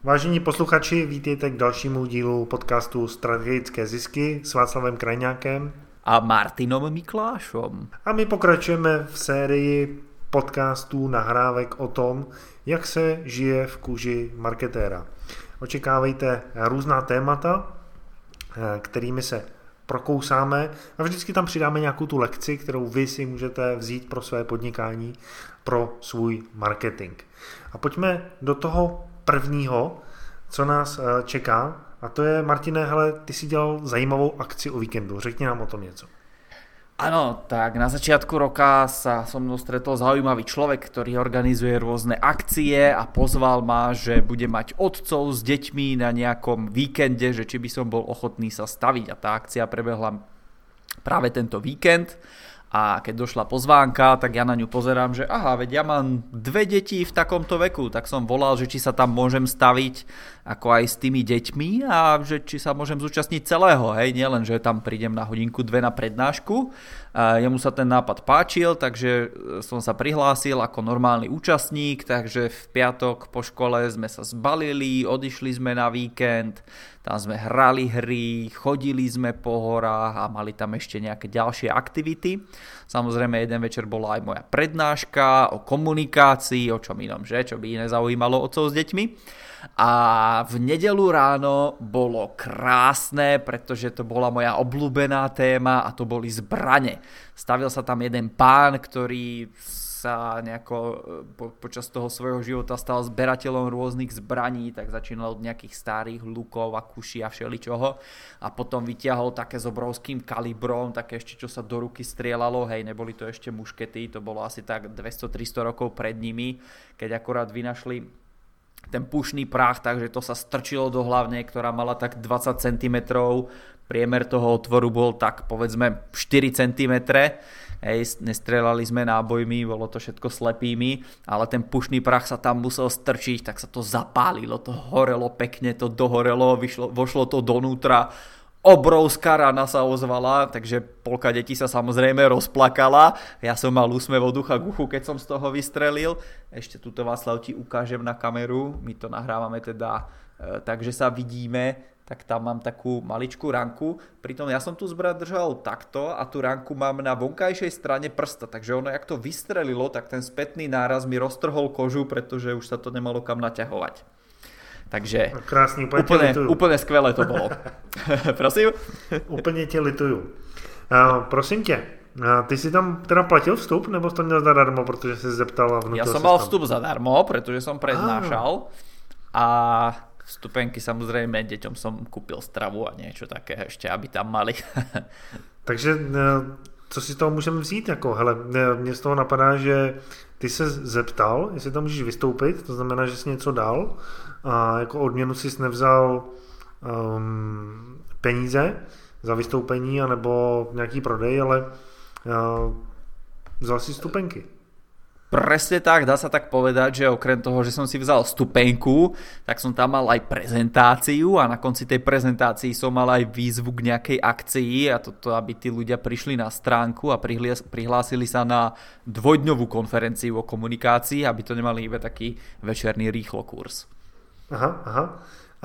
Vážení posluchači, vítejte k dalšímu dílu podcastu Strategické zisky s Václavem Krajňákem a Martinom Miklášom. A my pokračujeme v sérii podcastů nahrávek o tom, jak se žije v kůži marketéra. Očekávejte různá témata, kterými se prokousáme a vždycky tam přidáme nějakou tu lekci, kterou vy si můžete vzít pro své podnikání, pro svůj marketing. A pojďme do toho prvního, co nás čeká, a to je, Martine, hele, ty si dělal zajímavou akci o víkendu, řekni nám o tom něco. Áno, tak na začiatku roka sa so mnou stretol zaujímavý človek, ktorý organizuje rôzne akcie a pozval ma, že bude mať otcov s deťmi na nejakom víkende, že či by som bol ochotný sa staviť. A tá akcia prebehla práve tento víkend. A keď došla pozvánka, tak ja na ňu pozerám, že aha, veď ja mám 2 deti v takomto veku, tak som volal, že či sa tam môžem staviť ako aj s tými deťmi a že či sa môžem zúčastniť celého, hej, nielen, že tam prídem na hodinku 2 na prednášku. Jemu sa ten nápad páčil, takže som sa prihlásil ako normálny účastník, takže v piatok po škole sme sa zbalili, odišli sme na víkend, tam sme hrali hry, chodili sme po horách a mali tam ešte nejaké ďalšie aktivity. Samozrejme, jeden večer bola aj moja prednáška o komunikácii, o čom inom, že? Čo by iné zaujímalo otcov s deťmi. A v nedeľu ráno bolo krásne, pretože to bola moja obľúbená téma a to boli zbrane. Stavil sa tam jeden pán, ktorý sa nejako počas toho svojho života stal zberateľom rôznych zbraní, tak začínal od nejakých starých lukov a kuší a všeličoho a potom vytiahol také s obrovským kalibrom, také ešte čo sa do ruky strieľalo, hej, neboli to ešte muškety, to bolo asi tak 200-300 rokov pred nimi, keď akorát vynašli ten pušný prach, takže to sa strčilo do hlavne, ktorá mala tak 20 cm, priemer toho otvoru bol tak povedzme 4 cm, hej, nestrelali sme nábojmi, bolo to všetko slepými, ale ten pušný prach sa tam musel strčiť, tak sa to zapálilo, to horelo pekne, to dohorelo, vošlo to donútra, obrovská rana sa ozvala, takže polka detí sa samozrejme rozplakala. Ja som mal úsmev od ucha k uchu, keď som z toho vystrelil. Ešte tuto, Václav, ti ukážem na kameru. My to nahrávame teda takže sa vidíme, tak tam mám takú maličkú ranku. Pritom ja som tu zbraň držal takto a tú ranku mám na vonkajšej strane prsta. Takže ono, jak to vystrelilo, tak ten spätný náraz mi roztrhol kožu, pretože už sa to nemalo kam naťahovať. Takže krásný, úplne skvelé to bolo. Prosím? Úplně tě lituju. Prosím tě, ty si tam teda platil vstup, nebo jsi to měl zadarmo, protože jsi zeptal a vnutil Ja som mal vstup zadarmo, pretože som prednášal a vstupenky samozrejme deťom som kúpil stravu a niečo také ešte, aby tam mali. Takže co si z toho můžeme vzít? Jako, hele, mě z toho napadá, že ty se zeptal, jestli tam můžeš vystoupit, to znamená, že jsi něco dal a jako odměnu jsi nevzal peníze za vystoupení anebo nějaký prodej, ale vzal si vstupenky. Presne tak, dá sa tak povedať, že okrem toho, že som si vzal stupenku, tak som tam mal aj prezentáciu a na konci tej prezentácii som mal aj výzvu k nejakej akcii a toto, aby tí ľudia prišli na stránku a prihlásili sa na 2-dňovú konferenciu o komunikácii, aby to nemali iba taký večerný rýchlokurs. Aha.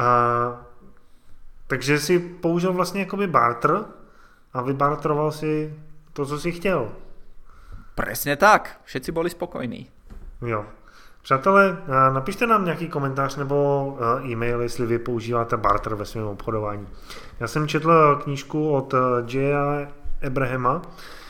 Takže si použil vlastně jakoby barter a vybarteroval si to, co si chtěl. Presne tak, všetci boli spokojní. Jo. Přátelé, napište nám nějaký komentář nebo e-mail, jestli vy používáte barter ve svém obchodování. Já jsem četl knížku od J.A. Abrahama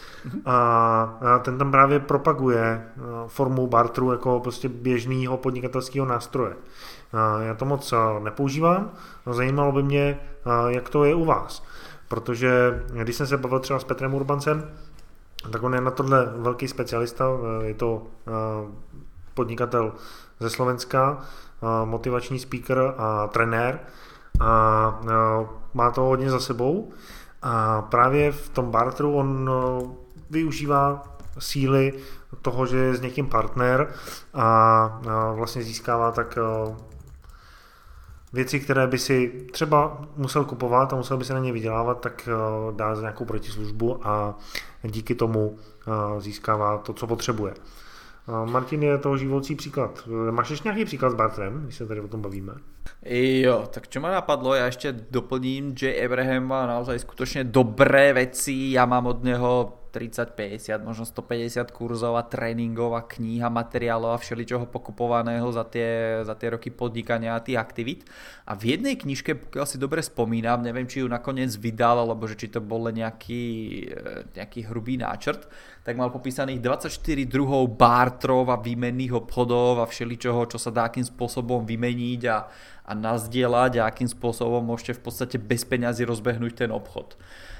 a ten tam právě propaguje formu barteru jako prostě běžného podnikatelského nástroje. Já to moc nepoužívám, zajímalo by mě, jak to je u vás. Protože když jsem se bavil třeba s Petrem Urbancem, tak on je na tohle velký specialista, je to podnikatel ze Slovenska, motivační speaker a trenér a má to hodně za sebou a právě v tom barteru on využívá síly toho, že je s někým partner a vlastně získává tak věci, které by si třeba musel kupovat a musel by se na ně vydělávat, tak dá za nějakou protislužbu a díky tomu získává to, co potřebuje. Martin je toho živoucí příklad. Máš ještě nějaký příklad s bartrem, když se tady o tom bavíme? Jo, tak čo ma napadlo, ja ešte doplním, Jay Abraham má naozaj skutočne dobré veci, ja mám od neho 30, 50, možno 150 kurzov a tréningov a kníh a materiálov a všeličoho pokupovaného za tie roky podnikania a tých aktivít. A v jednej knižke, pokiaľ si dobre spomínam, neviem, či ju nakoniec vydal, alebo že či to bol len nejaký hrubý náčrt, tak mal popísaných 24 druhov bartrov a výmenných obchodov a všeličoho, čo sa dá akým spôsobom vymeniť a nazdieľať a akým spôsobom môžete v podstate bez peňazí rozbehnúť ten obchod.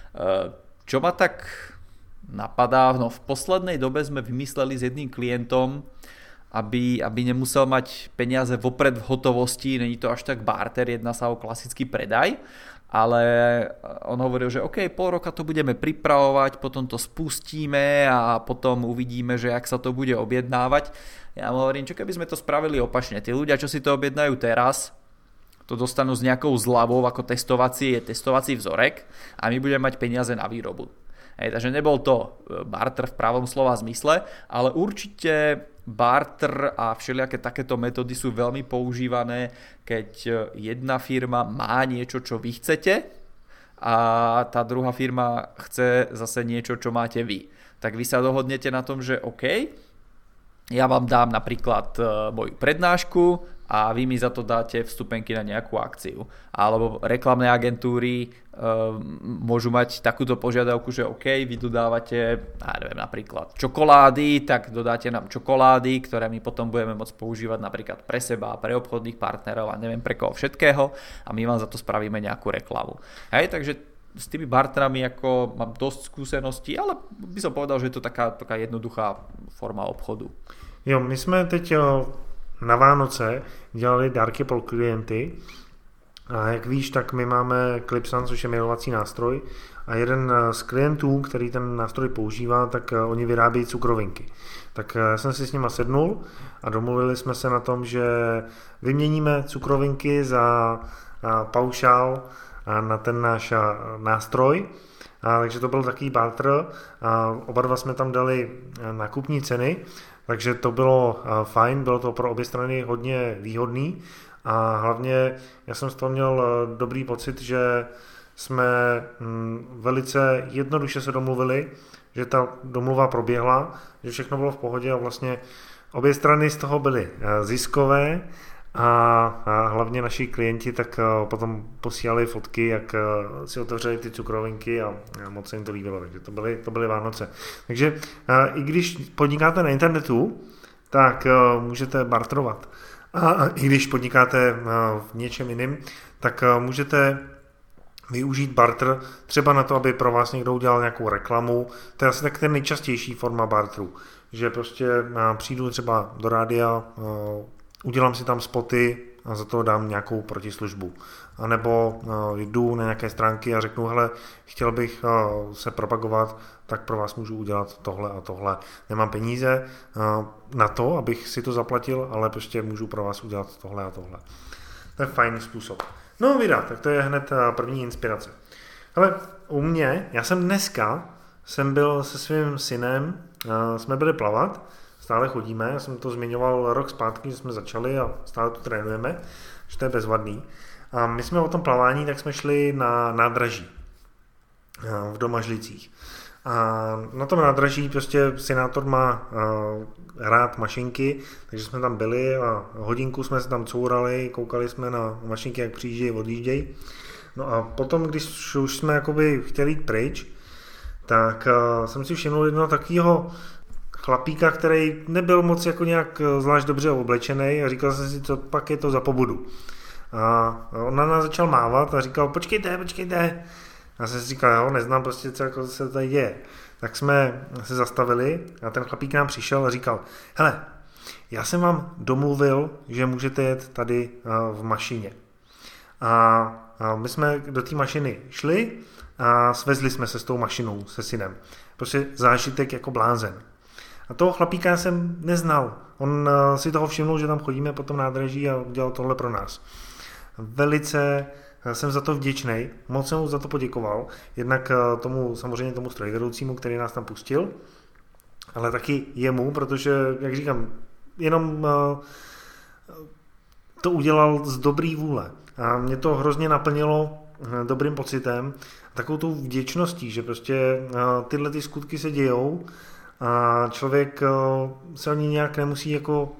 Čo ma tak napadá, no v poslednej dobe sme vymysleli s jedným klientom, aby nemusel mať peniaze vopred v hotovosti, není to až tak barter, jedná sa o klasický predaj, ale on hovoril, že OK, pol roka to budeme pripravovať, potom to spustíme a potom uvidíme, že jak sa to bude objednávať. Ja mu hovorím, čo keby sme to spravili opačne, tí ľudia, čo si to objednajú teraz, to dostanú s nejakou zľavou ako testovací vzorek a my budeme mať peniaze na výrobu. Takže nebol to barter v pravom slova zmysle, ale určite barter a všelijaké takéto metódy sú veľmi používané, keď jedna firma má niečo, čo vy chcete a tá druhá firma chce zase niečo, čo máte vy. Tak vy sa dohodnete na tom, že OK, ja vám dám napríklad moju prednášku a vy mi za to dáte vstupenky na nejakú akciu. Alebo reklamné agentúry môžu mať takúto požiadavku, že OK, vy dodávate, ja neviem, napríklad čokolády, tak dodáte nám čokolády, ktoré my potom budeme môcť používať napríklad pre seba, pre obchodných partnerov a neviem pre koho všetkého a my vám za to spravíme nejakú reklamu. Hej, takže s tými barterami ako mám dosť skúseností, ale by som povedal, že je to taká jednoduchá forma obchodu. Jo, my jsme teď na Vánoce dělali dárky pro klienty a jak víš, tak my máme Clipsan, což je mailovací nástroj a jeden z klientů, který ten nástroj používá, tak oni vyrábějí cukrovinky. Tak jsem si s nima sednul a domluvili jsme se na tom, že vyměníme cukrovinky za paušál na ten náš nástroj. Takže to byl takový barter a oba dva jsme tam dali nákupní ceny, takže to bylo fajn, bylo to pro obě strany hodně výhodný a hlavně já jsem z toho měl dobrý pocit, že jsme velice jednoduše se domluvili, že ta domluva proběhla, že všechno bylo v pohodě a vlastně obě strany z toho byly ziskové a hlavně naši klienti tak potom posílali fotky, jak si otevřeli ty cukrovinky a moc se jim to líbilo, takže to byly Vánoce. Takže i když podnikáte na internetu, tak můžete barterovat. A i když podnikáte v něčem jiném, tak můžete využít barter třeba na to, aby pro vás někdo udělal nějakou reklamu. To je asi tak ten nejčastější forma barteru, že prostě přijdu třeba do rádia, udělám si tam spoty a za to dám nějakou protislužbu. A nebo jdu na nějaké stránky a řeknu, hele, chtěl bych se propagovat, tak pro vás můžu udělat tohle a tohle. Nemám peníze na to, abych si to zaplatil, ale prostě můžu pro vás udělat tohle a tohle. To je fajný způsob. No vida, tak to je hned první inspirace. Ale u mě, já jsem byl se svým synem, jsme byli plavat, stále chodíme, já jsem to zmiňoval rok zpátky, že jsme začali a stále to trénujeme, že to je bezvadný. A my jsme o tom plavání, tak jsme šli na nádraží v Domažlicích. A na tom nádraží prostě senátor má rád mašinky, takže jsme tam byli a hodinku jsme se tam courali, koukali jsme na mašinky, jak přijíždějí, odjíždějí. No a potom, když už jsme jakoby chtěli jít pryč, tak jsem si všiml jednoho takového chlapíka, který nebyl moc jako nějak zvlášť dobře oblečený a říkal jsem si, co pak je to za pobudu. A on na nás začal mávat a říkal, počkejte. Já jsem si říkal, jo, neznám prostě, co jako se tady děje. Tak jsme se zastavili a ten chlapík nám přišel a říkal, hele, já jsem vám domluvil, že můžete jet tady v mašině. A my jsme do té mašiny šli a svezli jsme se s tou mašinou, se synem. Prostě zážitek jako blázen. A toho chlapíka jsem neznal. On si toho všimnul, že tam chodíme po tom nádraží a udělal tohle pro nás. Velice jsem za to vděčný, moc jsem mu za to poděkoval. Jednak samozřejmě tomu strojvedoucímu, který nás tam pustil. ale taky jemu, protože, jak říkám, jenom to udělal z dobrý vůle. A mě to hrozně naplnilo dobrým pocitem, takovou tou vděčností, že prostě tyhle ty skutky se dějou a člověk se ani nějak nemusí jako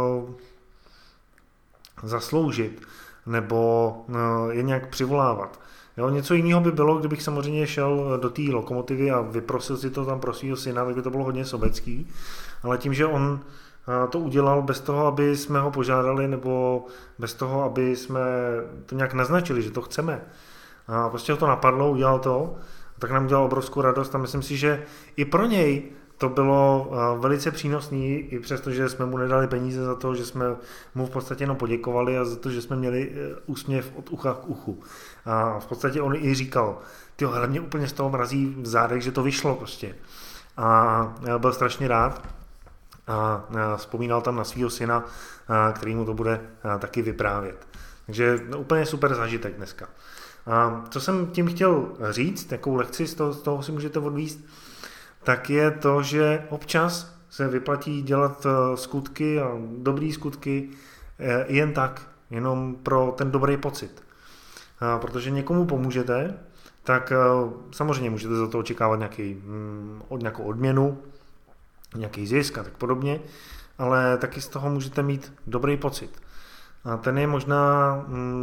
zasloužit nebo je nějak přivolávat. Jo, něco jiného by bylo, kdybych samozřejmě šel do té Lokomotivy a vyprosil si to tam pro svého syna, tak by to bylo hodně sobecký, ale tím, že on to udělal bez toho, aby jsme ho požádali, nebo bez toho, aby jsme to nějak naznačili, že to chceme. A prostě ho to napadlo, udělal to, tak nám udělal obrovskou radost a myslím si, že i pro něj to bylo velice přínosný, i přesto, že jsme mu nedali peníze za to, že jsme mu v podstatě jenom poděkovali a za to, že jsme měli úsměv od ucha k uchu. A v podstatě on i říkal, tyjo, hele, mě úplně z toho mrazí v zádech, že to vyšlo prostě. A já byl strašně rád a vzpomínal tam na svého syna, který mu to bude taky vyprávět. Takže úplně super zážitek dneska. A co jsem tím chtěl říct, jakou lekci z toho si můžete odvíst, tak je to, že občas se vyplatí dělat skutky a dobrý skutky jen tak, jenom pro ten dobrý pocit. Protože někomu pomůžete, tak samozřejmě můžete za to očekávat nějakou odměnu, nějaký zisk a tak podobně, ale taky z toho můžete mít dobrý pocit. A ten je možná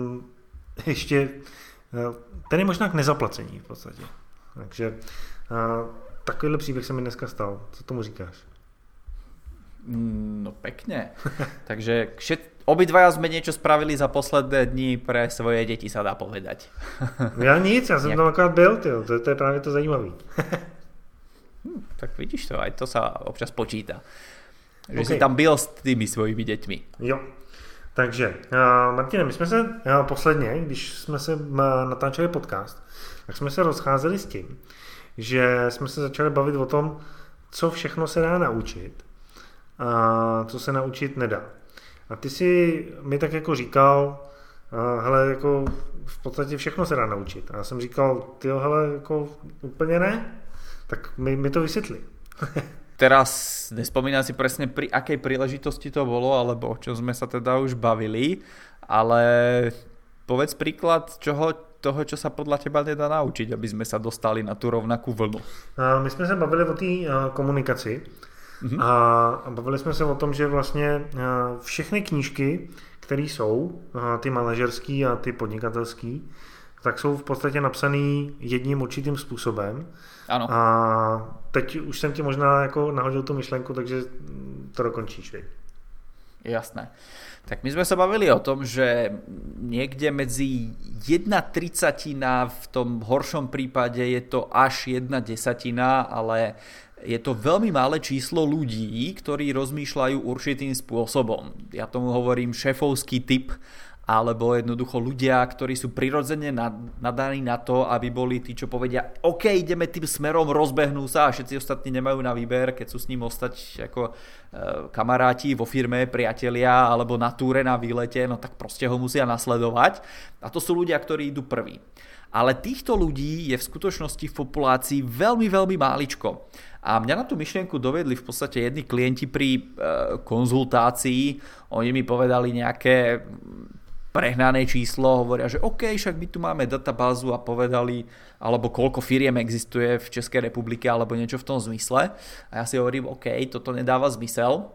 ten je možná k nezaplacení v podstatě. Takže takovýhle příběh se mi dneska stal. Co tomu říkáš? No pekne. Takže obidvaja sme niečo spravili za posledné dni pre svoje deti, sa dá povedať. Ja nic, ja som tam akorát byl, to je právě to zajímavý. Tak vidíš to, aj to sa občas počíta. Že si tam byl s tými svojimi deťmi. Jo. Takže, Martine, my jsme se posledně, když jsme se natáčeli podcast, tak jsme se rozcházeli s tím, že jsme se začali bavit o tom, co všechno se dá naučit a co se naučit nedá. A ty si mi tak jako říkal, hele, jako v podstatě všechno se dá naučit. A já jsem říkal, tyjo, hele, jako úplně ne, tak mi to vysvětli. Teraz nespomínam si presne pri akej príležitosti to bolo, alebo o čom sme sa teda už bavili, ale povedz príklad toho, čo sa podľa teba nedá naučiť, aby sme sa dostali na tú rovnakú vlnu. My jsme se bavili o té komunikaci a bavili jsme se o tom, že vlastně všechny knížky, které jsou, ty manažerský a ty podnikatelský, tak jsou v podstatě napsaný jedním určitým způsobem. Ano. A teď už jsem ti možná jako nahodil tu myšlenku, takže to dokončíš. Vej. Jasné. Tak my sme sa bavili o tom, že niekde medzi 1/30, v tom horšom prípade je to až 1/10, ale je to veľmi malé číslo ľudí, ktorí rozmýšľajú určitým spôsobom. Ja tomu hovorím šéfovský typ, alebo jednoducho ľudia, ktorí sú prirodzene nadaní na to, aby boli tí, čo povedia, OK, ideme tým smerom, rozbehnú sa a všetci ostatní nemajú na výber, keď sú s ním ostať ako kamaráti vo firme, priatelia alebo na túre, na výlete, no tak proste ho musia nasledovať. A to sú ľudia, ktorí idú prví. Ale týchto ľudí je v skutočnosti v populácii veľmi, veľmi máličko. A mňa na tú myšlienku dovedli v podstate jedni klienti pri konzultácii. Oni mi povedali nejaké prehnané číslo, hovoria, že OK, však my tu máme databázu a povedali, alebo koľko firiem existuje v Českej republike, alebo niečo v tom zmysle. A ja si hovorím, OK, toto nedáva zmysel,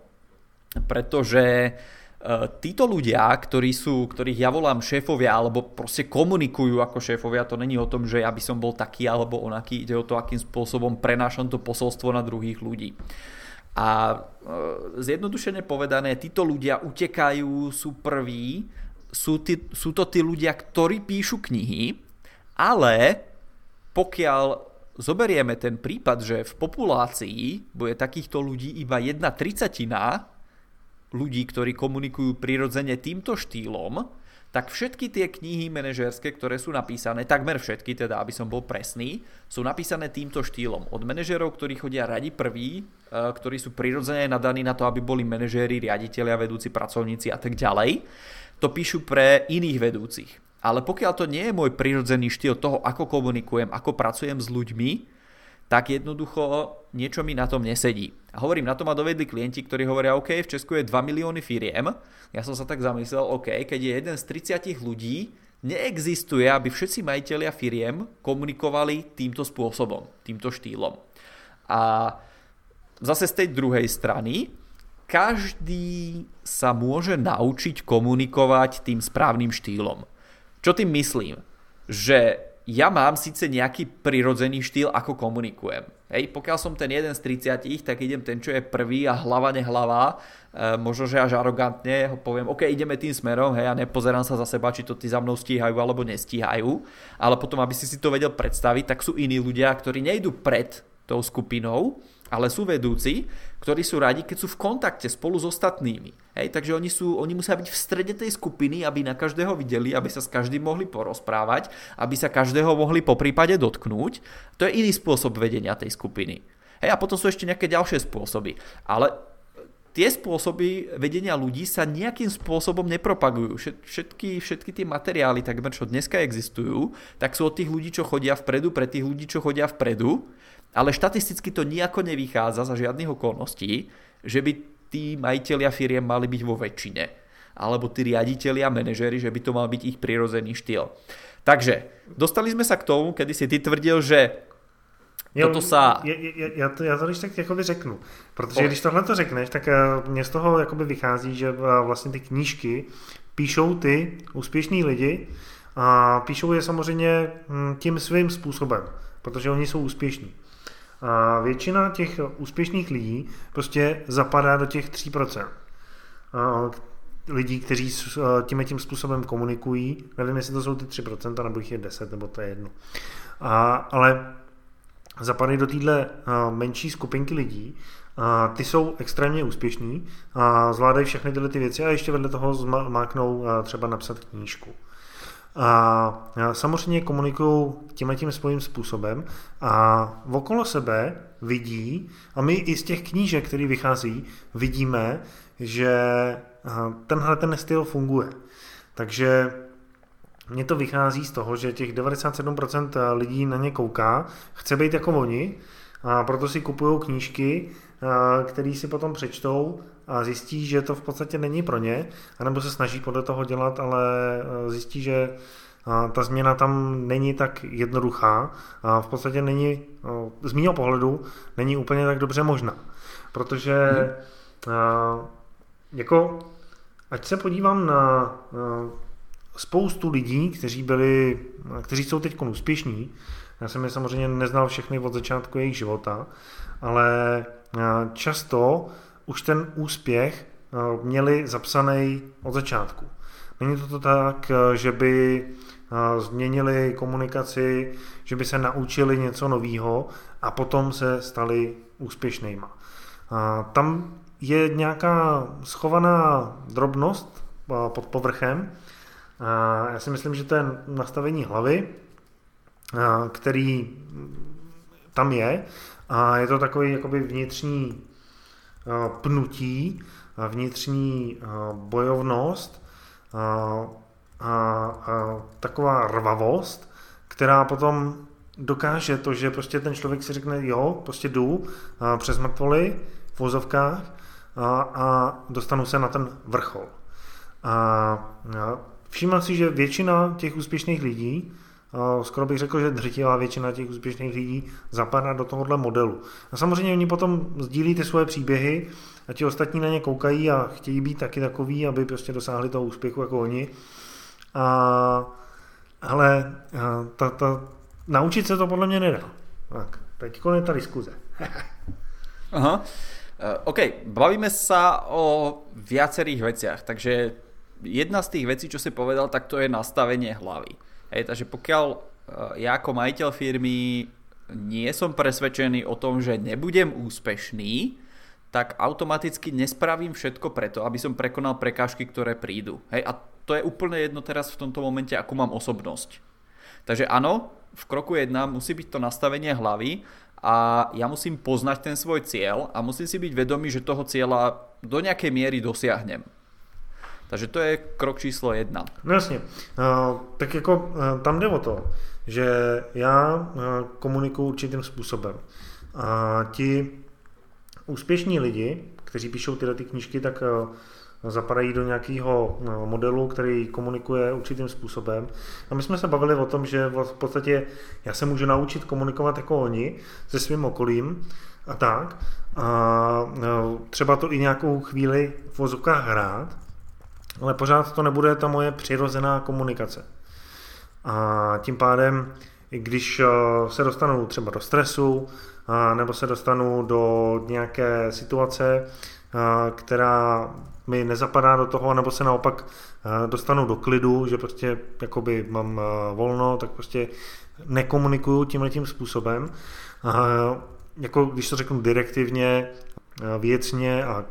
pretože títo ľudia, ktorých ja volám šéfovia, alebo proste komunikujú ako šéfovia, to není o tom, že ja by som bol taký alebo onaký, ide o to, akým spôsobom prenášam to posolstvo na druhých ľudí. A zjednodušene povedané, títo ľudia utekajú, sú prví, sú to tí ľudia, ktorí píšu knihy, ale pokiaľ zoberieme ten prípad, že v populácii bude takýchto ľudí iba 1/30 ľudí, ktorí komunikujú prirodzene týmto štýlom, tak všetky tie knihy manažérske, ktoré sú napísané, takmer všetky, teda aby som bol presný, sú napísané týmto štýlom. Od manažérov, ktorí chodia radi prví, ktorí sú prirodzene nadaní na to, aby boli manažéri, riaditelia, vedúci pracovníci a tak ďalej, to píšu pre iných vedúcich. Ale pokiaľ to nie je môj prirodzený štýl toho, ako komunikujem, ako pracujem s ľuďmi, tak jednoducho niečo mi na tom nesedí. A hovorím, na to ma dovedli klienti, ktorí hovoria, OK, v Česku je 2 milióny firiem. Ja som sa tak zamyslel, OK, keď je jeden z 30 ľudí, neexistuje, aby všetci majitelia firiem komunikovali týmto spôsobom, týmto štýlom. A zase z tej druhej strany, každý sa môže naučiť komunikovať tým správnym štýlom. Čo tým myslím? Že ja mám síce nejaký prirodzený štýl, ako komunikujem. Hej, pokiaľ som ten jeden z 30, tak idem ten, čo je prvý a hlava nehlava, možno, že až arogantne ho poviem, OK, ideme tým smerom, hej, a nepozerám sa za seba, či to tí za mnou stíhajú alebo nestíhajú, ale potom, aby si to vedel predstaviť, tak sú iní ľudia, ktorí nejdú pred tou skupinou, ale sú vedúci, ktorí sú radi, keď sú v kontakte spolu s ostatnými. Hej, takže oni musia byť v strede tej skupiny, aby na každého videli, aby sa s každým mohli porozprávať, aby sa každého mohli poprípade dotknúť. To je iný spôsob vedenia tej skupiny. Hej, a potom sú ešte nejaké ďalšie spôsoby. Ale tie spôsoby vedenia ľudí sa nejakým spôsobom nepropagujú. Všetky tie materiály, takmer čo dneska existujú, tak sú od tých ľudí, čo chodia vpredu, pre tých ľudí, čo chodia vpredu. Ale štatisticky to nejako nevychádza za žiadnych okolností, že by tí majitelia firiem mali byť vo väčšine. Alebo tí riaditelia, manažéri, že by to mal byť ich prirodzený štýl. Takže, dostali sme sa k tomu, kedy si ty tvrdil, že toto sa... Já to když tak jakoby řeknu. Protože když tohle to řekneš, tak mě z toho jakoby vychází, že vlastně ty knížky píšou ty úspěšní lidi a píšou je samozřejmě tím svým způsobem, protože oni jsou úspěšní. A většina těch úspěšných lidí prostě zapadá do těch 3%. Lidí, kteří tím způsobem komunikují, nevím, jestli to jsou ty 3%, nebo jich je 10, nebo to je jedno. Ale zapadají do téhle menší skupinky lidí, ty jsou extrémně úspěšní, zvládají všechny tyhle ty věci a ještě vedle toho zmáknou třeba napsat knížku. A samozřejmě komunikují tím svým způsobem a okolo sebe vidí, a my i z těch knížek, které vychází, vidíme, že ten styl funguje. Takže mně to vychází z toho, že těch 97% lidí na ně kouká, chce být jako oni, a proto si kupují knížky, které si potom přečtou a zjistí, že to v podstatě není pro ně, anebo se snaží podle toho dělat, ale zjistí, že ta změna tam není tak jednoduchá a v podstatě není, z mýho pohledu, není úplně tak dobře možná. Protože jako, ať se podívám na spoustu lidí, kteří jsou teď úspěšní, já jsem je samozřejmě neznal všechny od začátku jejich života, ale často už ten úspěch měli zapsaný od začátku. Není to tak, že by změnili komunikaci, že by se naučili něco nového a potom se stali úspěšnýma. Tam je nějaká schovaná drobnost pod povrchem. Já si myslím, že to je nastavení hlavy, který tam je, a je to takový jakoby vnitřní pnutí, vnitřní bojovnost a taková rvavost, která potom dokáže to, že prostě ten člověk si řekne, jo, prostě jdu přes mrtvoly v vozovkách a dostanu se na ten vrchol. Všiml si, že většina těch úspěšných lidí, skoro bych řekl, že drtivá většina těch úspěšných lidí zapadá do tohohle modelu. A samozřejmě oni potom sdílí ty svoje příběhy a ti ostatní na ně koukají a chtějí být taky takový, aby prostě dosáhli toho úspěchu jako oni. Ale naučit se to podle mě nedá. Tak, teď konec ta diskuze. Aha. OK, bavíme sa o viacerých veciach, takže jedna z tých vecí, čo si povedal, tak to je nastavenie hlavy. Hej, takže pokiaľ ja ako majiteľ firmy nie som presvedčený o tom, že nebudem úspešný, tak automaticky nespravím všetko preto, aby som prekonal prekážky, ktoré prídu. Hej, a to je úplne jedno teraz v tomto momente, akú mám osobnosť. Takže áno, v kroku 1 musí byť to nastavenie hlavy a ja musím poznať ten svoj cieľ a musím si byť vedomý, že toho cieľa do nejakej miery dosiahnem. Takže to je krok číslo 1. No jasně. Tak jako tam jde o to, že já komunikuju určitým způsobem. A ti úspěšní lidi, kteří píšou tyhle ty knížky, tak zapadají do nějakého modelu, který komunikuje určitým způsobem. A my jsme se bavili o tom, že v podstatě já se můžu naučit komunikovat jako oni se svým okolím a tak. A třeba to i nějakou chvíli v vozovkách hrát, ale pořád to nebude ta moje přirozená komunikace. A tím pádem, když se dostanu třeba do stresu, nebo se dostanu do nějaké situace, která mi nezapadá do toho, nebo se naopak dostanu do klidu, že prostě jakoby mám volno, tak prostě nekomunikuju tímhletím způsobem. Jako když to řeknu direktivně, věcně a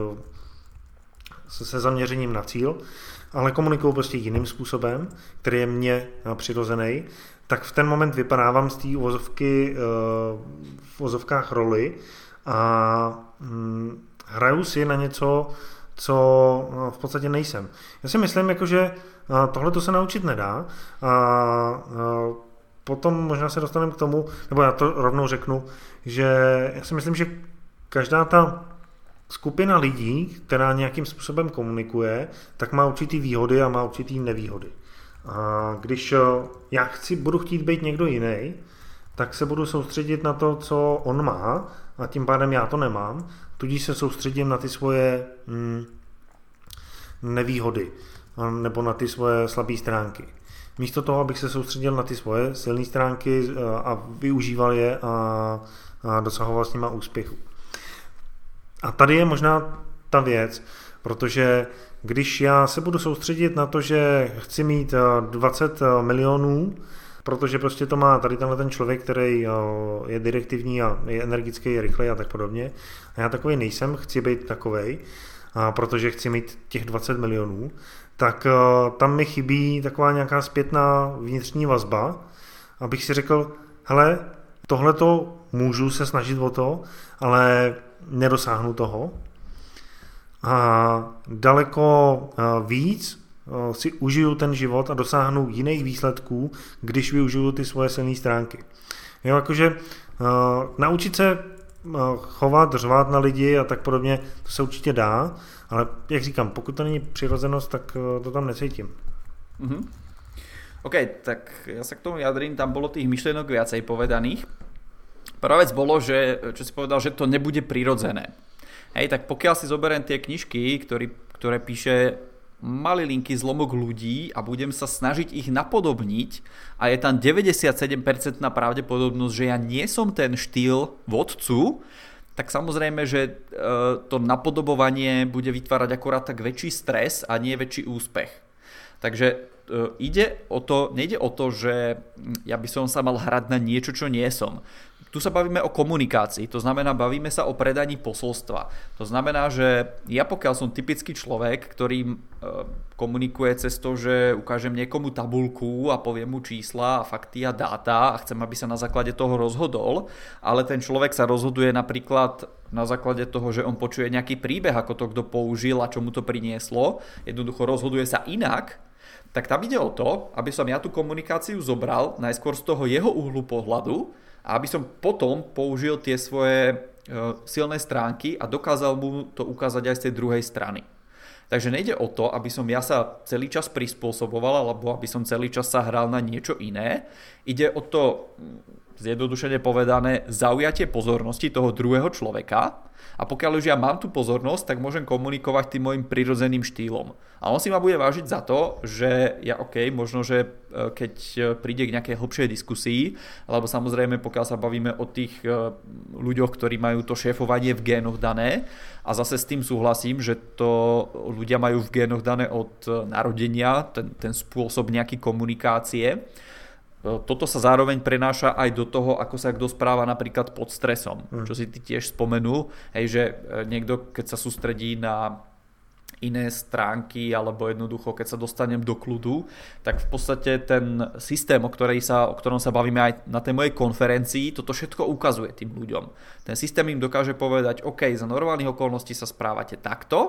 se zaměřením na cíl, ale komunikuju prostě jiným způsobem, který je mně přirozený, tak v ten moment vypadávám z té uvozovky v uvozovkách roli a hraju si na něco, co v podstatě nejsem. Já si myslím, že tohle to se naučit nedá a potom možná se dostaneme k tomu, nebo já to rovnou řeknu, že já si myslím, že každá ta skupina lidí, která nějakým způsobem komunikuje, tak má určitý výhody a má určitý nevýhody. A když já budu chtít být někdo jiný, tak se budu soustředit na to, co on má a tím pádem já to nemám, tudíž se soustředím na ty svoje nevýhody nebo na ty svoje slabé stránky. Místo toho, abych se soustředil na ty svoje silné stránky a využíval je a dosahoval s nima úspěchu. A tady je možná ta věc, protože když já se budu soustředit na to, že chci mít 20 milionů, protože prostě to má tady tenhle ten člověk, který je direktivní a je energický, je rychlej a tak podobně. A já takovej nejsem, chci být takovej, protože chci mít těch 20 milionů, tak tam mi chybí taková nějaká zpětná vnitřní vazba, abych si řekl, hele, tohleto můžu se snažit o to, ale nedosáhnu toho. A daleko víc si užiju ten život a dosáhnu jiných výsledků, když využiju ty svoje silné stránky. Jo, jakože naučit se chovat, řvát na lidi a tak podobně, to se určitě dá, ale jak říkám, pokud to není přirozenost, tak to tam necítím. Mm-hmm. OK, tak ja sa k tomu vyjadrím, tam bolo tých myšlienok viacej povedaných. Prvá vec bolo, že, čo si povedal, že to nebude prirodzené. Hej, tak pokiaľ si zoberiem tie knižky, ktoré píše malilinký zlomok ľudí a budem sa snažiť ich napodobniť a je tam 97% pravdepodobnosť, že ja nie som ten štýl vodcu, tak samozrejme, že to napodobovanie bude vytvárať akurát tak väčší stres a nie väčší úspech. Takže nejde o to, že ja by som sa mal hrať na niečo, čo nie som. Tu sa bavíme o komunikácii, to znamená, bavíme sa o predaní posolstva. To znamená, že ja pokiaľ som typický človek, ktorý komunikuje cez to, že ukážem niekomu tabuľku a poviem mu čísla a fakty a dáta a chcem, aby sa na základe toho rozhodol, ale ten človek sa rozhoduje napríklad na základe toho, že on počuje nejaký príbeh, ako to kto použil a čo mu to prinieslo, jednoducho rozhoduje sa inak, tak tam ide o to, aby som ja tú komunikáciu zobral najskôr z toho jeho uhlu pohľadu a aby som potom použil tie svoje silné stránky a dokázal mu to ukázať aj z tej druhej strany. Takže nejde o to, aby som ja sa celý čas prispôsoboval alebo aby som celý čas sa hral na niečo iné. Ide o to, zjednodušene povedané, zaujatie pozornosti toho druhého človeka. A pokiaľ už ja mám tú pozornosť, tak môžem komunikovať tým môjim prirodzeným štýlom. A on si ma bude vážiť za to, že ja možno, že keď príde k nejakej hlbšej diskusii, alebo samozrejme pokiaľ sa bavíme o tých ľuďoch, ktorí majú to šéfovanie v génoch dané, a zase s tým súhlasím, že to ľudia majú v génoch dané od narodenia, ten spôsob nejaký komunikácie. Toto sa zároveň prenáša aj do toho, ako sa kto správa napríklad pod stresom. Čo si ty tiež spomenul, že niekto, keď sa sústredí na iné stránky alebo jednoducho, keď sa dostanem do kľudu, tak v podstate ten systém, o ktorom sa bavíme aj na tej mojej konferencii, toto všetko ukazuje tým ľuďom. Ten systém im dokáže povedať, OK, za normálnych okolností sa správate takto,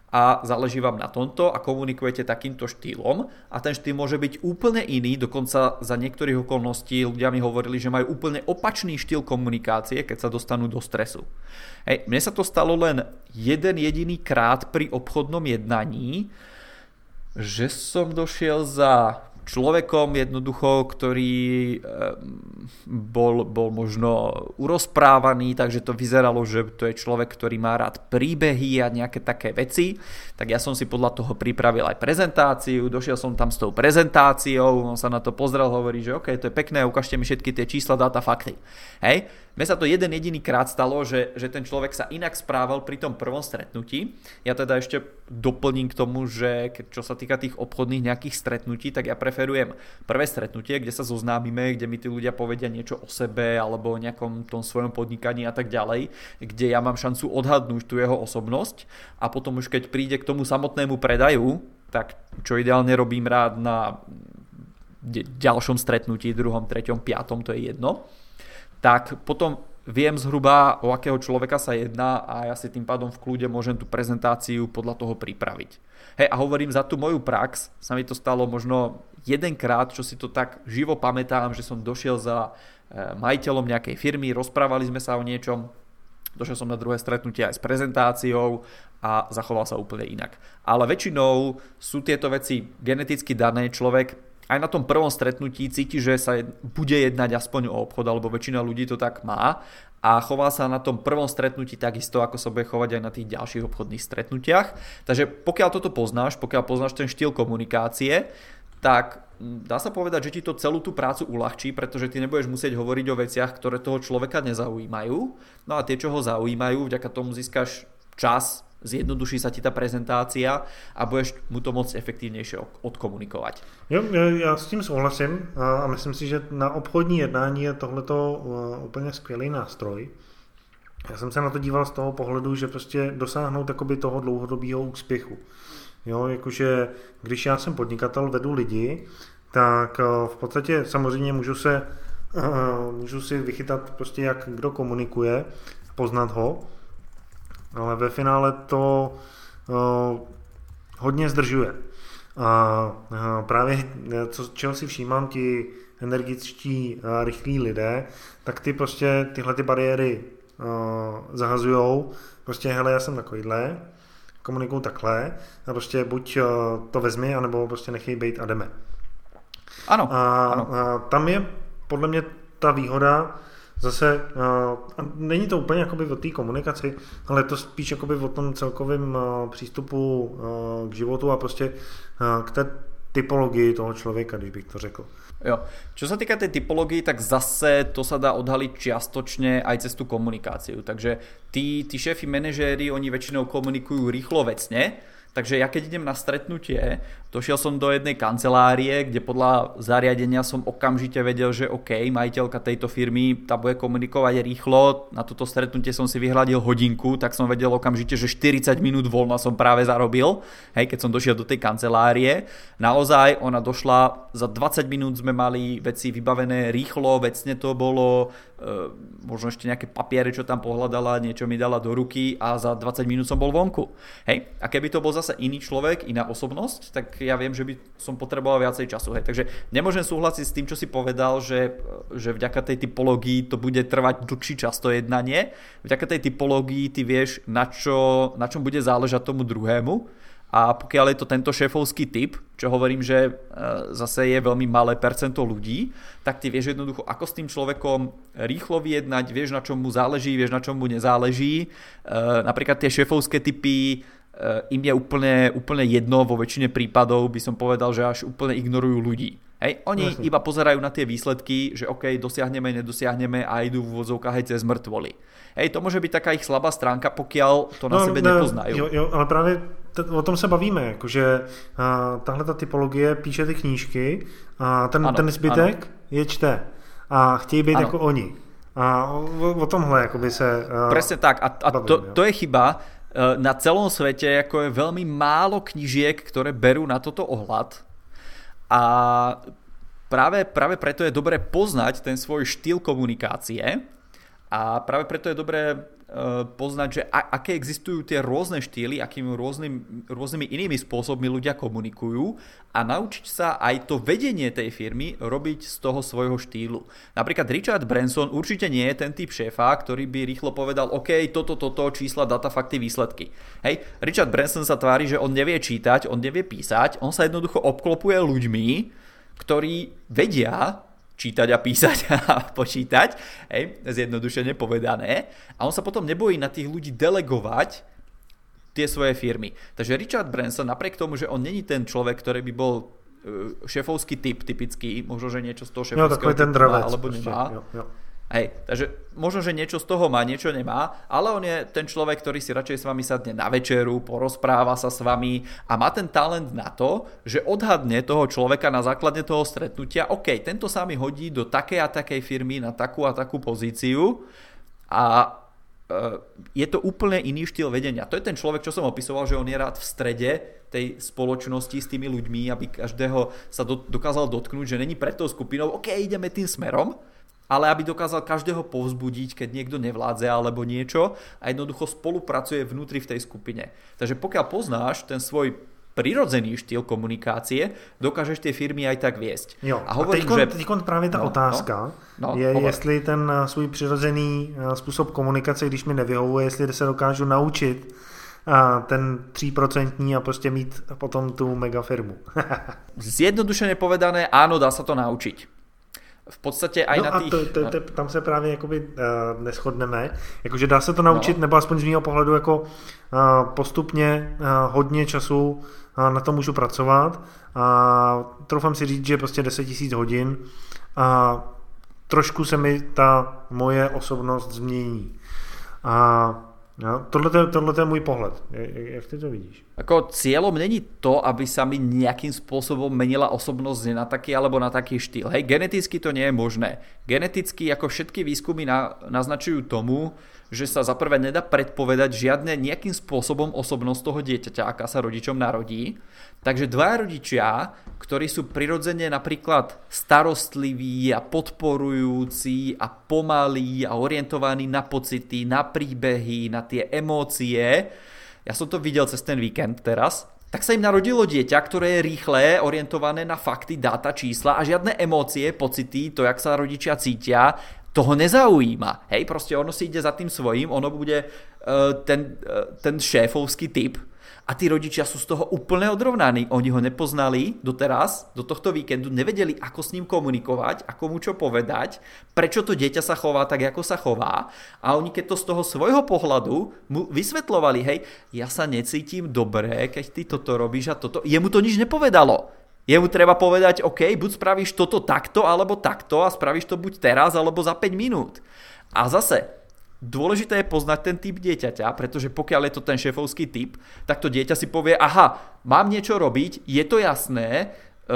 a záleží vám na tomto a komunikujete takýmto štýlom a ten štýl môže byť úplne iný, dokonca za niektorých okolností ľudia mi hovorili, že majú úplne opačný štýl komunikácie, keď sa dostanú do stresu. Hej, mne sa to stalo len jeden jediný krát pri obchodnom jednaní, že som došiel za človekom jednoducho, ktorý bol možno urozprávaný, takže to vyzeralo, že to je človek, ktorý má rád príbehy a nejaké také veci. Tak ja som si podľa toho pripravil aj prezentáciu, došiel som tam s tou prezentáciou, on sa na to pozrel, hovorí, že OK, to je pekné, ukážte mi všetky tie čísla, dáta, fakty. Hej? Mne sa to jeden jediný krát stalo, že ten človek sa inak správal pri tom prvom stretnutí. Ja teda ešte doplním k tomu, že čo sa týka tých obchodných nejakých stretnutí, tak ja preferujem prvé stretnutie, kde sa zoznámime, kde mi tí ľudia povedia niečo o sebe alebo o nejakom tom svojom podnikaní a tak ďalej, kde ja mám šancu odhadnúť tú jeho osobnosť a potom už keď príde k tomu samotnému predaju, tak čo ideálne robím rád na ďalšom stretnutí, druhom, treťom, piatom, to je jedno, tak potom viem zhruba, o akého človeka sa jedná a ja si tým pádom v kľude môžem tú prezentáciu podľa toho pripraviť. Hej, a hovorím, za tú moju prax sa mi to stalo možno jedenkrát, čo si to tak živo pamätám, že som došiel za majiteľom nejakej firmy, rozprávali sme sa o niečom, došiel som na druhé stretnutie aj s prezentáciou a zachoval sa úplne inak. Ale väčšinou sú tieto veci geneticky dané, človek aj na tom prvom stretnutí cíti, že sa bude jednať aspoň o obchod, alebo väčšina ľudí to tak má a chová sa na tom prvom stretnutí takisto, ako sa bude chovať aj na tých ďalších obchodných stretnutiach. Takže pokiaľ toto poznáš, pokiaľ poznáš ten štýl komunikácie, tak dá sa povedať, že ti to celú tú prácu uľahčí, pretože ty nebudeš musieť hovoriť o veciach, ktoré toho človeka nezaujímajú. No a tie, čo ho zaujímajú, vďaka tomu získaš čas, zjednoduší sa ti tá prezentácia a budeš mu to moc efektivnější odkomunikovat. Jo, já s tím souhlasím a myslím si, že na obchodní jednání je tohleto úplně skvělý nástroj. Já jsem se na to díval z toho pohledu, že prostě dosáhnout takoby toho dlouhodobého úspěchu. Jo, jakože když já jsem podnikatel, vedu lidi, tak v podstatě samozřejmě můžu si vychytat prostě jak kdo komunikuje, poznat ho, ale ve finále to hodně zdržuje. A právě čeho si všímám, ti energičtí, rychlí lidé, tak ty prostě tyhle ty bariéry zahazujou. Prostě hele, já jsem takovýhle, komunikuju takhle a prostě buď to vezmi, anebo prostě nechej bejt a jdeme. Ano. A tam je podle mě ta výhoda. Zase není to úplně jakoby o té komunikaci, ale je to spíš jakoby o tom celkovém přístupu k životu a prostě k té typologii toho člověka, když bych to řekl. Jo. Čo sa týka tej typológie, tak zase to sa dá odhaliť čiastočne aj cez tú komunikáciu. Takže tí šéfi manažéri, oni väčšinou komunikujú rýchlo vecne, takže ja keď idem na stretnutie, došiel som do jednej kancelárie, kde podľa zariadenia som okamžite vedel, že OK, majiteľka tejto firmy, tá bude komunikovať rýchlo, na toto stretnutie som si vyhľadil hodinku, tak som vedel okamžite, že 40 minút voľna som práve zarobil, hej, keď som došiel do tej kancelárie. Naozaj, ona došla, za 20 minút sme mali veci vybavené rýchlo, vecne to bolo, možno ešte nejaké papiere, čo tam pohľadala, niečo mi dala do ruky a za 20 minút som bol vonku. Hej, a keby to bol zase iný človek, iná osobnosť, tak ja viem, že by som potreboval viacej času. Hej. Takže nemôžem súhlasiť s tým, čo si povedal, že vďaka tej typológii to bude trvať dlhší čas to jednanie. Vďaka tej typológii ty vieš, na čom bude záležať tomu druhému. A pokiaľ je to tento šéfovský typ, čo hovorím, že zase je veľmi malé percento ľudí, tak ty vieš jednoducho, ako s tým človekom rýchlo vyjednať, vieš, na čom mu záleží, vieš, na čom mu nezáleží. Napríklad tie šéfovské typy im je úplne jedno, vo väčšine prípadov by som povedal, že až úplne ignorujú ľudí. Hej, oni iba pozerajú na tie výsledky, že OK, dosiahneme, nedosiahneme a idú v úvodzovkách aj cez mŕtvoly. Hej, to môže byť taká ich slabá stránka, pokiaľ to na sebe nepoznajú. Jo, ale právě o tom se bavíme, jakože tahle ta typologie píše ty knížky a ten zbytek je čte a chtějí být jako oni. A o tomhle jakoby se presne tak a to je chyba. Na celom svete ako je veľmi málo knížiek, ktoré berú na toto ohľad a práve preto je dobre poznať ten svoj štýl komunikácie A práve preto je dobré poznať, že aké existujú tie rôzne štýly, akými rôznymi inými spôsobmi ľudia komunikujú a naučiť sa aj to vedenie tej firmy robiť z toho svojho štýlu. Napríklad Richard Branson určite nie je ten typ šéfa, ktorý by rýchlo povedal OK, toto, čísla, data, fakty, výsledky. Hej, Richard Branson sa tvári, že on nevie čítať, on nevie písať, on sa jednoducho obklopuje ľuďmi, ktorí vedia čítať a písať a počítať, hej, zjednodušene povedané. A on sa potom nebojí na tých ľudí delegovať tie svoje firmy. Takže Richard Branson, napriek tomu, že on není ten človek, ktorý by bol šéfovský typ, typický, možno, že niečo z toho šéfovského typu má, alebo nemá. Jo. Hej, takže možno, že niečo z toho má, niečo nemá, ale on je ten človek, ktorý si radšej s vami sadne na večeru, porozpráva sa s vami a má ten talent na to, že odhadne toho človeka na základe toho stretnutia, OK, tento sa mi hodí do takej a takej firmy na takú a takú pozíciu a je to úplne iný štýl vedenia. To je ten človek, čo som opisoval, že on je rád v strede tej spoločnosti s tými ľuďmi, aby každého sa dokázal dotknúť, že není pred tou skupinou, OK, ideme tým smerom, ale aby dokázal každého povzbudiť, keď niekto nevládze alebo niečo a jednoducho spolupracuje vnútri v tej skupine. Takže pokiaľ poznáš ten svoj prirodzený štýl komunikácie, dokážeš tie firmy aj tak viesť. Jo, a teď právě ta otázka je, jestli ten svůj přirozený způsob komunikace, když mi nevyhovuje, jestli se dokážu naučit ten 3% a prostě mít potom tu megafirmu. Zjednodušene povedané, áno, dá sa to naučiť. V podstatě aj na tých... Tam se právě jakoby neshodneme. Jakože dá se to naučit, nebo aspoň z mého pohledu jako postupně hodně času na to můžu pracovat a troufám si říct, že prostě 10 000 hodin a trošku se mi ta moje osobnost změní. A tohle je můj pohled. Jak ty to vidíš? Ako cieľom není to, aby sa mi nejakým spôsobom menila osobnosť na taký alebo na taký štýl. Hej, geneticky to nie je možné. Geneticky, ako všetky výskumy naznačujú tomu, že sa za prvé nedá predpovedať žiadne nejakým spôsobom osobnosť toho dieťaťa, aká sa rodičom narodí. Takže dvaja rodičia, ktorí sú prirodzene napríklad starostliví a podporujúci a pomalí a orientovaní na pocity, na príbehy, na tie emócie, ja som to videl cez ten víkend teraz, tak sa im narodilo dieťa, ktoré je rýchle, orientované na fakty, dáta, čísla a žiadne emócie, pocity, to, jak sa rodičia cítia, toho nezaujíma. Hej, proste ono si ide za tým svojím, ono bude ten šéfovský typ a tí rodičia sú z toho úplne odrovnaní. Oni ho nepoznali doteraz, do tohto víkendu, nevedeli, ako s ním komunikovať, ako mu čo povedať, prečo to dieťa sa chová tak, ako sa chová a oni keď to z toho svojho pohľadu mu vysvetľovali, hej, ja sa necítim dobre, keď ty toto robíš a toto, jemu to nič nepovedalo. Jemu treba povedať, OK, buď spravíš toto takto, alebo takto a spravíš to buď teraz, alebo za 5 minút. A zase, dôležité je poznať ten typ dieťaťa, pretože pokiaľ je to ten šéfovský typ, tak to dieťa si povie, aha, mám niečo robiť, je to jasné,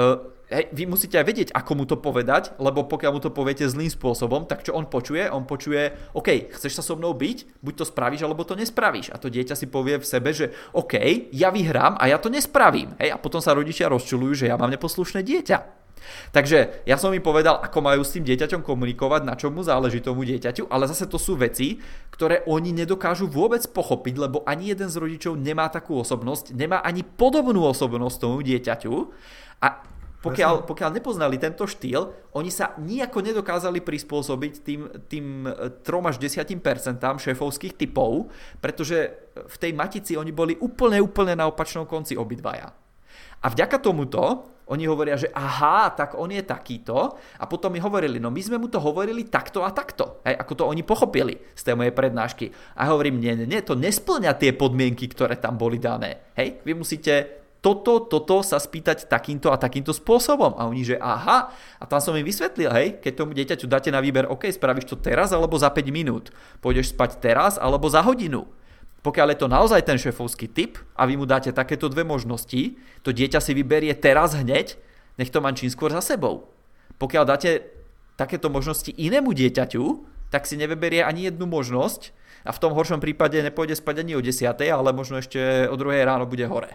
vy musíte aj vedieť, ako mu to povedať, lebo pokiaľ mu to poviete zlým spôsobom, tak čo on počuje? On počuje, OK, chceš sa so mnou byť? Buď to spravíš, alebo to nespravíš. A to dieťa si povie v sebe, že OK, ja vyhrám a ja to nespravím. Hej? A potom sa rodičia rozčuľujú, že ja mám neposlušné dieťa. Takže ja som im povedal, ako majú s tým dieťaťom komunikovať, na čom mu záleží tomu dieťaťu, ale zase to sú veci, ktoré oni nedokážu vôbec pochopiť, lebo ani jeden z rodičov nemá takú osobnosť, nemá ani podobnú osobnosť tomu dieťaťu a pokiaľ nepoznali tento štýl, oni sa nijako nedokázali prispôsobiť tým 3 až 10% šéfovských typov, pretože v tej matici oni boli úplne na opačnom konci obidvaja. A vďaka tomuto oni hovoria, že aha, tak on je takýto a potom mi hovorili, no my sme mu to hovorili takto a takto, hej, ako to oni pochopili z tej mojej prednášky. A hovorím, nie, to nesplňa tie podmienky, ktoré tam boli dané. Hej, vy musíte toto sa spýtať takýmto a takýmto spôsobom. A oni, že aha, a tam som im vysvetlil, hej, keď tomu dieťaťu dáte na výber, OK, spravíš to teraz alebo za 5 minút. Pôjdeš spať teraz alebo za hodinu. Pokiaľ je to naozaj ten šéfovský typ a vy mu dáte takéto dve možnosti, to dieťa si vyberie teraz hneď, nech to má čím skôr za sebou. Pokiaľ dáte takéto možnosti inému dieťaťu, tak si nevyberie ani jednu možnosť a v tom horšom prípade nepôjde spať ani o 10, ale možno ešte o 2 ráno bude hore.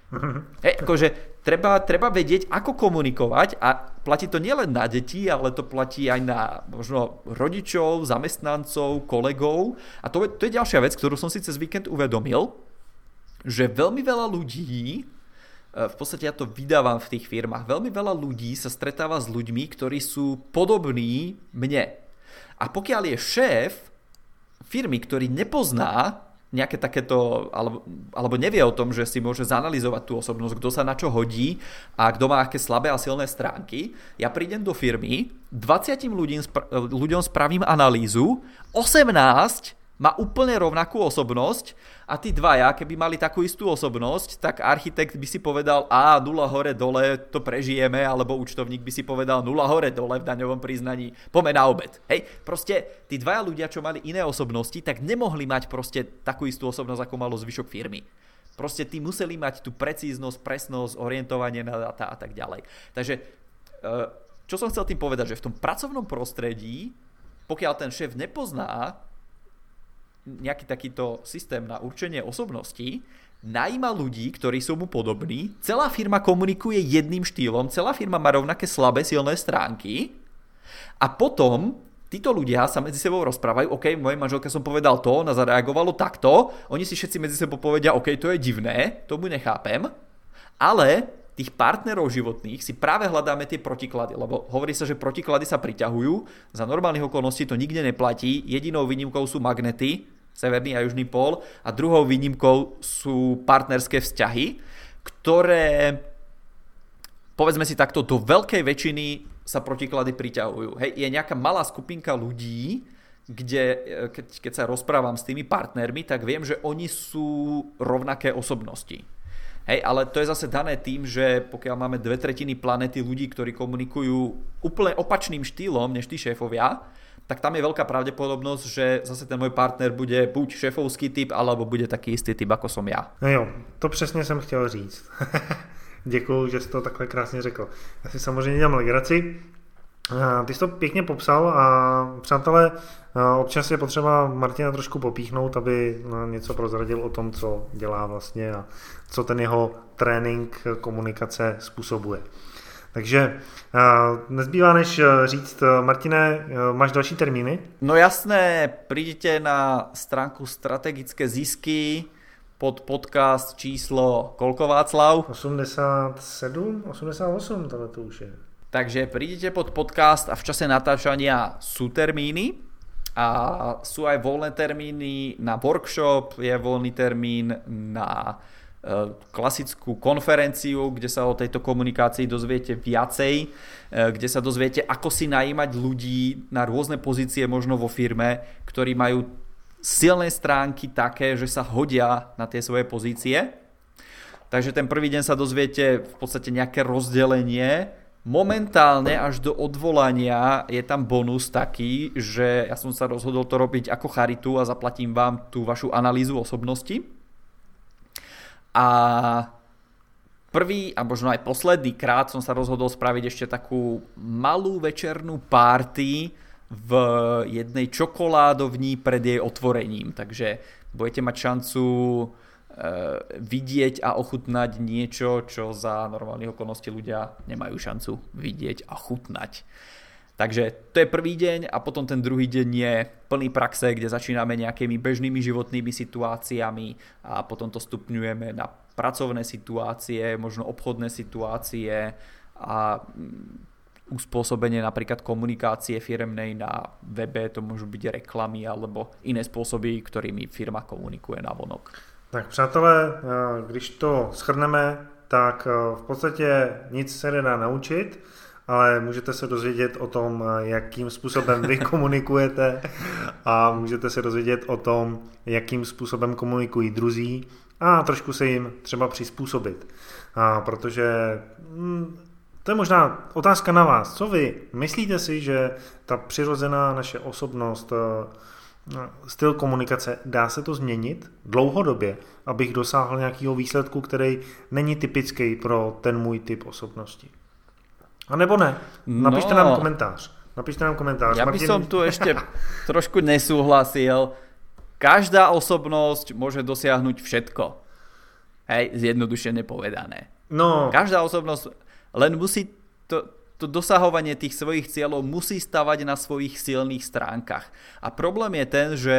Akože treba vedieť, ako komunikovať a platí to nielen na deti, ale to platí aj na možno rodičov, zamestnancov, kolegov. A to je ďalšia vec, ktorú som si cez víkend uvedomil, že veľmi veľa ľudí, v podstate ja to vydávam v tých firmách, veľmi veľa ľudí sa stretáva s ľuďmi, ktorí sú podobní mne. A pokiaľ je šéf firmy, ktorý nepozná nejaké takéto, alebo nevie o tom, že si môže zanalyzovať tú osobnosť, kto sa na čo hodí a kto má aké slabé a silné stránky, ja prídem do firmy, 20 ľuďom spravím analýzu, 18 má úplne rovnakú osobnosť a tí dvaja, keby mali takú istú osobnosť, tak architekt by si povedal nula hore dole, to prežijeme, alebo účtovník by si povedal nula hore dole v daňovom priznaní, poďme na obed. Hej, proste tí dvaja ľudia, čo mali iné osobnosti, tak nemohli mať proste takú istú osobnosť, ako malo zvyšok firmy. Proste tí museli mať tú precíznosť, presnosť, orientovanie na data a tak ďalej. Takže, čo som chcel tým povedať, že v tom pracovnom prostredí, pokiaľ ten šéf nepozná nejaký takýto systém na určenie osobností, najíma ľudí, ktorí sú mu podobní, celá firma komunikuje jedným štýlom, celá firma má rovnaké slabé, silné stránky a potom títo ľudia sa medzi sebou rozprávajú, OK, mojej manželke som povedal to, ona zareagovalo takto, oni si všetci medzi sebou povedia, OK, to je divné, tomu nechápem, ale tých partnerov životných si práve hľadáme tie protiklady, lebo hovorí sa, že protiklady sa priťahujú, za normálnych okolností to nikde neplatí, jedinou výnimkou sú magnety, severný a južný pól a druhou výnimkou sú partnerské vzťahy, ktoré, povedzme si takto, do veľkej väčšiny sa protiklady priťahujú. Hej, je nejaká malá skupinka ľudí, kde keď sa rozprávam s tými partnermi, tak viem, že oni sú rovnaké osobnosti. Hej, ale to je zase dané tým, že pokiaľ máme 2/3 planety ľudí, ktorí komunikujú úplne opačným štýlom než tí šéfovia, tak tam je veľká pravdepodobnosť, že zase ten môj partner bude buď šéfovský typ, alebo bude taký istý typ, ako som já. No jo, to přesně jsem chtěl říct. Děkuju, že jsi to takhle krásně řekl. Já si samozřejmě dělám legraci. Ty jsi to pěkně popsal a přátelé, občas je potřeba Martina trošku popíchnout, aby něco prozradil o tom, co dělá vlastně a co ten jeho trénink komunikace způsobuje. Takže nezbývá než říct, Martine, máš další termíny? No jasné, prídete na stránku Strategické zisky pod podcast číslo koľko, Václav? 87, 88, tohle to už je. Takže prídete pod podcast a v čase natáčania sú termíny a sú aj voľné termíny na workshop, je voľný termín na klasickú konferenciu, kde sa o tejto komunikácii dozviete viacej, kde sa dozviete, ako si najímať ľudí na rôzne pozície možno vo firme, ktorí majú silné stránky také, že sa hodia na tie svoje pozície. Takže ten prvý deň sa dozviete v podstate nejaké rozdelenie. Momentálne až do odvolania je tam bonus taký, že ja som sa rozhodol to robiť ako charitu a zaplatím vám tú vašu analýzu osobnosti. A prvý a možno aj posledný krát som sa rozhodol spraviť ešte takú malú večernú party v jednej čokoládovni pred jej otvorením. Takže budete mať šancu vidieť a ochutnať niečo, čo za normálnych okolností ľudia nemajú šancu vidieť a chutnať. Takže to je prvý deň a potom ten druhý deň je plný praxe, kde začíname nejakými bežnými životnými situáciami a potom to stupňujeme na pracovné situácie, možno obchodné situácie a uspôsobenie napríklad komunikácie firemnej na webe, to môžu byť reklamy alebo iné spôsoby, ktorými firma komunikuje navonok. Tak přátelé, když to shrneme, tak v podstatě nic se nedá naučit, ale můžete se dozvědět o tom, jakým způsobem vy komunikujete a můžete se dozvědět o tom, jakým způsobem komunikují druzí a trošku se jim třeba přizpůsobit. Protože to je možná otázka na vás. Co vy? Myslíte si, že ta přirozená naše osobnost, styl komunikace, dá se to změnit dlouhodobě, abych dosáhl nějakého výsledku, který není typický pro ten můj typ osobnosti? A nebo ne? Napište nám komentář. Ja by som tu ešte trošku nesúhlasil. Každá osobnosť môže dosiahnuť všetko. Hej, zjednodušene povedané. No. Každá osobnosť len musí to dosahovanie tých svojich cieľov musí stavať na svojich silných stránkach. A problém je ten, že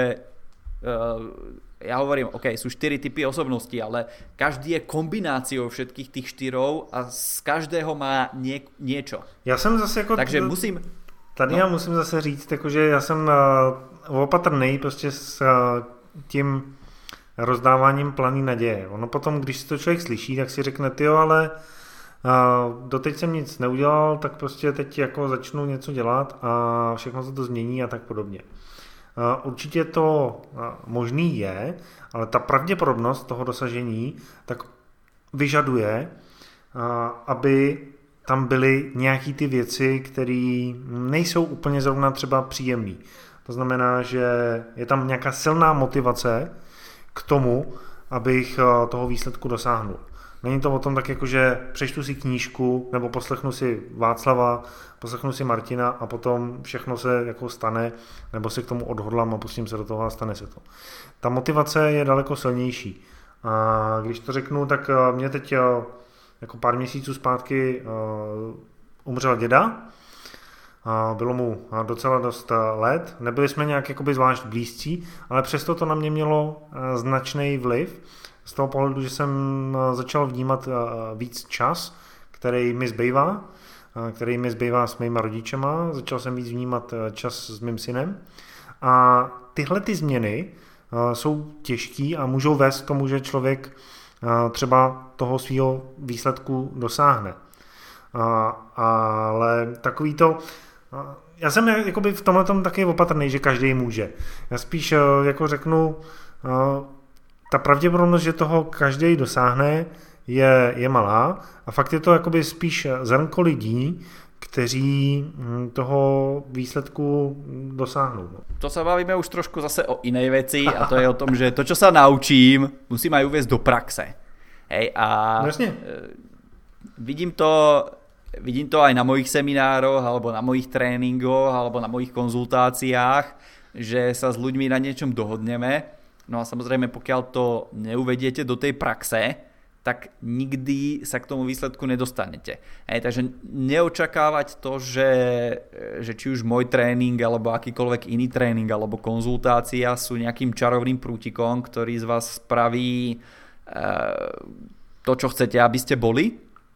ja hovorím, OK, sú 4 typy osobností, ale každý je kombináciou všetkých tých 4 a z každého má niečo. Já jsem zase jako... Takže musím... Tady já musím zase říct, že já jsem opatrný prostě s tím rozdáváním planý naděje. Ono potom, když si to člověk slyší, tak si řekne, tyjo, ale doteď jsem nic neudělal, tak prostě teď jako začnu něco dělat a všechno se to změní a tak podobně. Určitě to možný je, ale ta pravděpodobnost toho dosažení tak vyžaduje, aby tam byly nějaký ty věci, které nejsou úplně zrovna třeba příjemné. To znamená, že je tam nějaká silná motivace k tomu, abych toho výsledku dosáhnul. Není to o tom tak jako, že přečtu si knížku nebo poslechnu si Václava, poslechnu si Martina a potom všechno se jako stane, nebo se k tomu odhodlám a pustím se do toho a stane se to. Ta motivace je daleko silnější. A když to řeknu, tak mě teď jako pár měsíců zpátky umřel děda. Bylo mu docela dost let. Nebyli jsme nějak jakoby zvlášť blízcí, ale přesto to na mě mělo značný vliv. Z toho pohledu, že jsem začal vnímat víc čas, který mi zbývá s mýma rodičema. Začal jsem víc vnímat čas s mým synem. A tyhle ty změny jsou těžký a můžou vést k tomu, že člověk třeba toho svého výsledku dosáhne. Ale takový to... Já jsem jakoby v tomhletom taky opatrný, že každý může. Já spíš jako řeknu, ta pravděpodobnost, že toho každý dosáhne, je malá a fakt je to jakoby spíš zrnko lidí, kteří toho výsledku dosáhnou. To sa bavíme už trošku zase o inej veci a to je o tom, že to, čo sa naučím, musím aj uviesť do praxe. Hej, a vidím to aj na mojich seminároch, alebo na mojich tréningoch, alebo na mojich konzultáciách, že sa s ľuďmi na niečom dohodneme. No a samozrejme, pokiaľ to neuvediete do tej praxe, tak nikdy sa k tomu výsledku nedostanete. Takže neočakávať to, že či už môj tréning, alebo akýkoľvek iný tréning, alebo konzultácia sú nejakým čarovným prútikom, ktorý z vás spraví to, čo chcete, aby ste boli.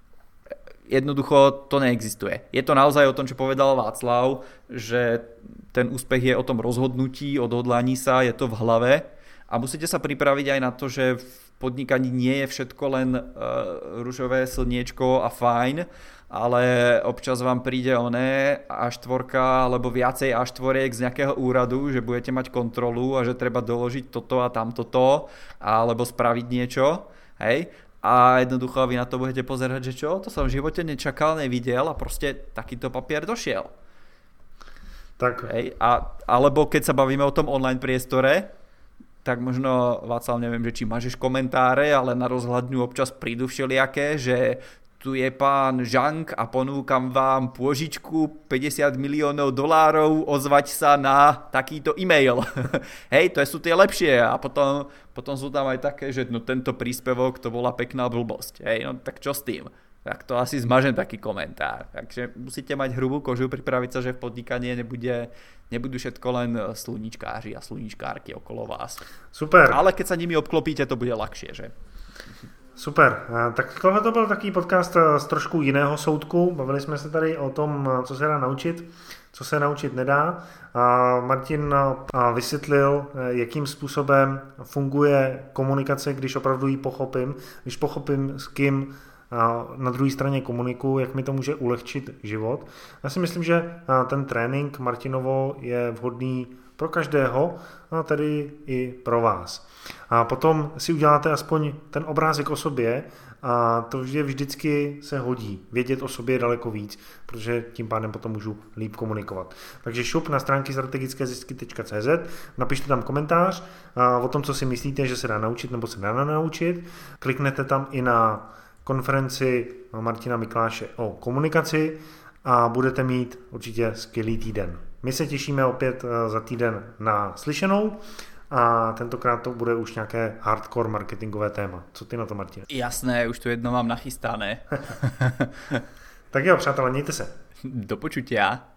Jednoducho to neexistuje. Je to naozaj o tom, čo povedal Václav, že ten úspech je o tom rozhodnutí, odhodlaní sa, je to v hlave a musíte sa pripraviť aj na to, že v podnikaní nie je všetko len ružové slniečko a fajn, ale občas vám príde A4 alebo viacej A4 z nejakého úradu, že budete mať kontrolu a že treba doložiť toto a tamtoto alebo spraviť niečo, hej? A jednoducho vy na to budete pozerať, že čo? To som v živote nečakal, nevidel a proste takýto papier došiel. Tak. Hej? Alebo keď sa bavíme o tom online priestore, tak možno, Václav, neviem, že či máš komentáre, ale na rozhľadňu občas prídu všelijaké, že tu je pán Žank a ponúkam vám pôžičku $50 miliónov, ozvať sa na takýto e-mail. Hej, to sú tie lepšie a potom sú tam aj také, že no tento príspevok to bola pekná blbosť. Hej, no tak čo s tým? Tak to asi zmažem taký komentár. Takže musíte mať hrubú kožu, pripraviť sa, že v podnikaní nebudú všetko len sluníčkáři a sluníčkárky okolo vás. Super. Ale keď sa nimi obklopíte, to bude ľahšie, že? Super. Tak tohle to byl takový podcast z trošku jiného soudku. Bavili jsme se tady o tom, co se dá naučit, co se naučit nedá. Martin vysvětlil, jakým způsobem funguje komunikace, když opravdu ji pochopím, když pochopím, s kým na druhé straně komunikuju, jak mi to může ulehčit život. Já si myslím, že ten trénink Martinovo je vhodný pro každého, a tedy i pro vás. A potom si uděláte aspoň ten obrázek o sobě a to vždycky se hodí. Vědět o sobě je daleko víc, protože tím pádem potom můžu líp komunikovat. Takže šup na stránky strategickézisky.cz, napište tam komentář o tom, co si myslíte, že se dá naučit nebo se dá naučit. Kliknete tam i na konferenci Martina Mikláše o komunikaci a budete mít určitě skvělý týden. My se těšíme opět za týden na slyšenou a tentokrát to bude už nějaké hardcore marketingové téma. Co ty na to, Martine? Jasné, už to jedno mám nachystané. Tak jo, přátelé, mějte se. Do počutia.